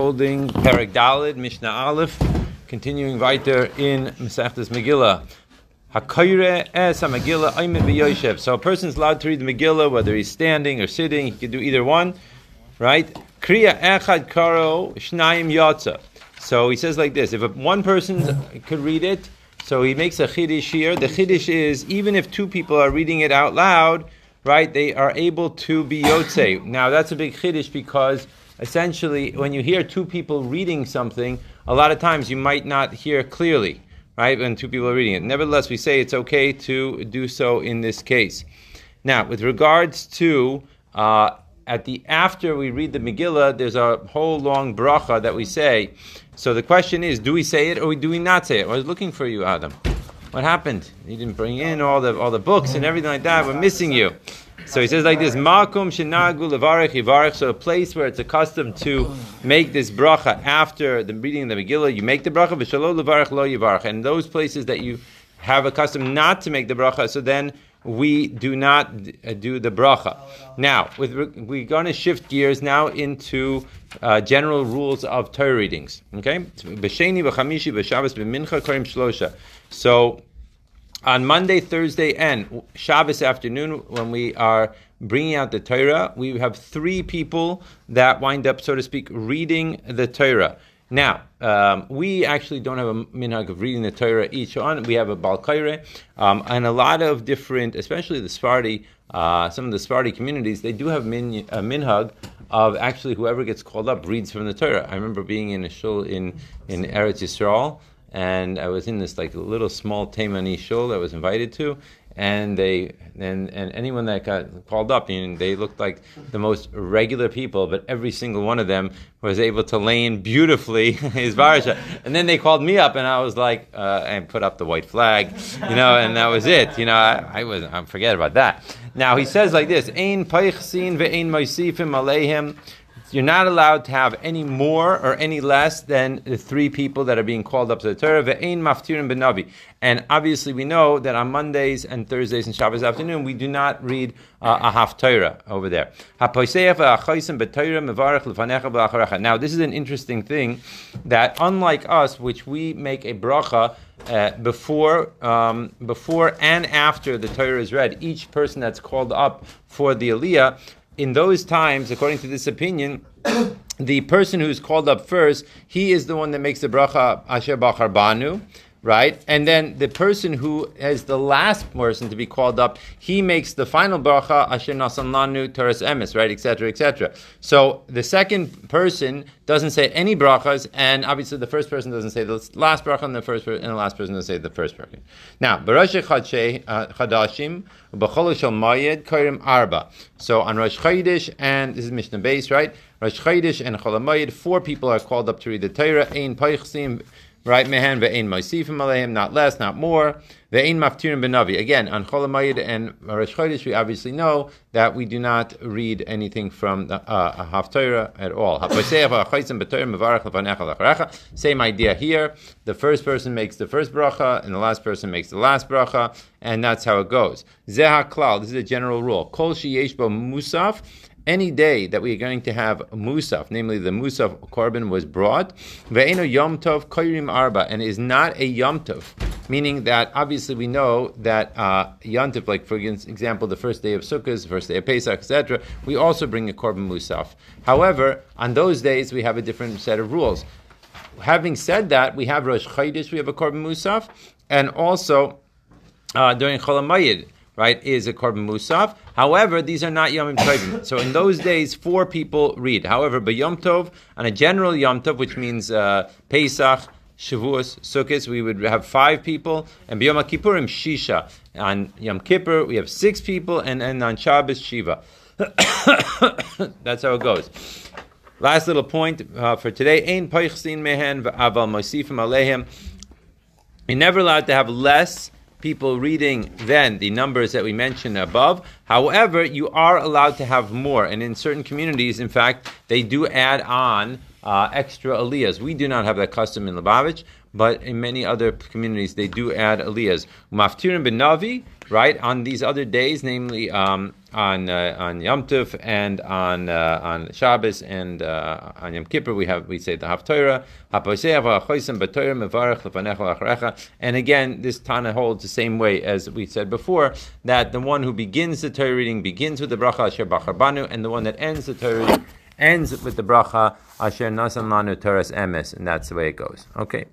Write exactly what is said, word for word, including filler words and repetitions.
holding Perek Daled, Mishnah Aleph, continuing weiter in Masechtas Megillah. Hakoyre es ha-Megillah aymed v'yoshev. So a person's allowed to read the Megillah, whether he's standing or sitting. He can do either one, right? Kriya echad karo shnayim yatsa. So he says like this: if a, one person could read it, so he makes a chiddush here. The chiddush is even if two people are reading it out loud, right? They are able to be yotze. Now that's a big chiddush because essentially, when you hear two people reading something, a lot of times you might not hear clearly, right, when two people are reading it. Nevertheless, we say it's okay to do so in this case. Now, with regards to, uh, at the after we read the Megillah, there's a whole long bracha that we say. So the question is, do we say it or do we not say it? I was looking for you, Adam. What happened? You didn't bring in all the all the books and everything like that. We're missing you. So he says like this: Makom shenagu levarech yivarech. So a place where it's accustomed to make this bracha after the reading of the Megillah, you make the bracha. V'shalo levarech lo yivarech. And those places that you have accustomed not to make the bracha, so then we do not do the bracha. Now, with, we're going to shift gears now into uh, general rules of Torah readings. Okay, b'sheni v'chamishi v'shabbos b'mincha korim shlosha. So on Monday, Thursday, and Shabbos afternoon, when we are bringing out the Torah, we have three people that wind up, so to speak, reading the Torah. Now, um, we actually don't have a minhag of reading the Torah each on. We have a Bal Kaire, um, and a lot of different, especially the Sephardi, uh, some of the Sephardi communities, they do have min, a minhag of actually whoever gets called up reads from the Torah. I remember being in a shul in, in Eretz Yisrael, and I was in this like little small Taimani shul that I was invited to, and they and, and anyone that got called up, you know, they looked like the most regular people, but every single one of them was able to lay in beautifully his varasha. And then they called me up, and I was like, uh, and put up the white flag, you know, and that was it. You know, I, I was I forget about that. Now he says like this: Ein peichsin ve'ein moisifim aleihim. You're not allowed to have any more or any less than the three people that are being called up to the Torah. Ve'ein maftirin benavi. And obviously we know that on Mondays and Thursdays and Shabbos afternoon, we do not read uh, a haftarah over there. Now this is an interesting thing, that unlike us, which we make a bracha uh, before, um, before and after the Torah is read, each person that's called up for the Aliyah, in those times, according to this opinion, the person who's called up first, he is the one that makes the bracha Asher Bachar Banu, right? And then the person who is the last person to be called up, he makes the final bracha Asher Nasan Lanu Toras Emes, right? et cetera, et cetera. So the second person doesn't say any brachas, and obviously the first person doesn't say the last bracha, and the first per- and the last person doesn't say the first bracha. Now, B'Rosh Chadashim B'Chol Shel Mayed Kairim Arba. So on Rosh Chodesh, and this is Mishnah Beis, right? Rosh Chodesh and Chol Mayed, four people are called up to read the Torah. Ein Peichsim, right? Mehen ve'ein moisifim aleihim, not less, not more. Ve'ein maftirim benavi. Again, on Chol Hamoed and Rosh Chodesh, we obviously know that we do not read anything from the uh, haftarah at all. Same idea here. The first person makes the first bracha, and the last person makes the last bracha, and that's how it goes. Zeh haklal. This is a general rule. Kol sheyesh bo musaf. Any day that we are going to have musaf, namely the musaf korban was brought, ve'eno yom tov koyrim arba, and is not a yom tov, meaning that obviously we know that uh, yom tov, like for example the first day of Sukkot, the first day of Pesach, et cetera, we also bring a korban musaf. However, on those days we have a different set of rules. Having said that, we have Rosh Chodesh, we have a korban musaf, and also uh, during Chol Hamoed, right, is a korban musaf. However, these are not Yom Tovim. So in those days, four people read. However, by Yom Tov, on a general Yom Tov, which means uh, Pesach, Shavuos, Sukkot, we would have five people. And by Yom Kippurim, Shisha. On Yom Kippur, we have six people. And, and on Shabbos, Shiva. That's how it goes. Last little point uh, for today. Ein peichsin mehen v'aval moisifim aleihim. You're never allowed to have less people reading than the numbers that we mentioned above. However, you are allowed to have more. And in certain communities, in fact, they do add on uh, extra aliyahs. We do not have that custom in Lubavitch, but in many other communities, they do add aliyahs. Maftirin ben Navi, right, on these other days, namely um, on uh, on Yom Tov and on uh, on Shabbos and uh, on Yom Kippur we have we say the Haftorah. And again, this Tana holds the same way as we said before, that the one who begins the Torah reading begins with the bracha Asher Bachar Banu, and the one that ends the Torah reading ends with the bracha Asher Nasan Lanu Toras Emes, and that's the way it goes. Okay.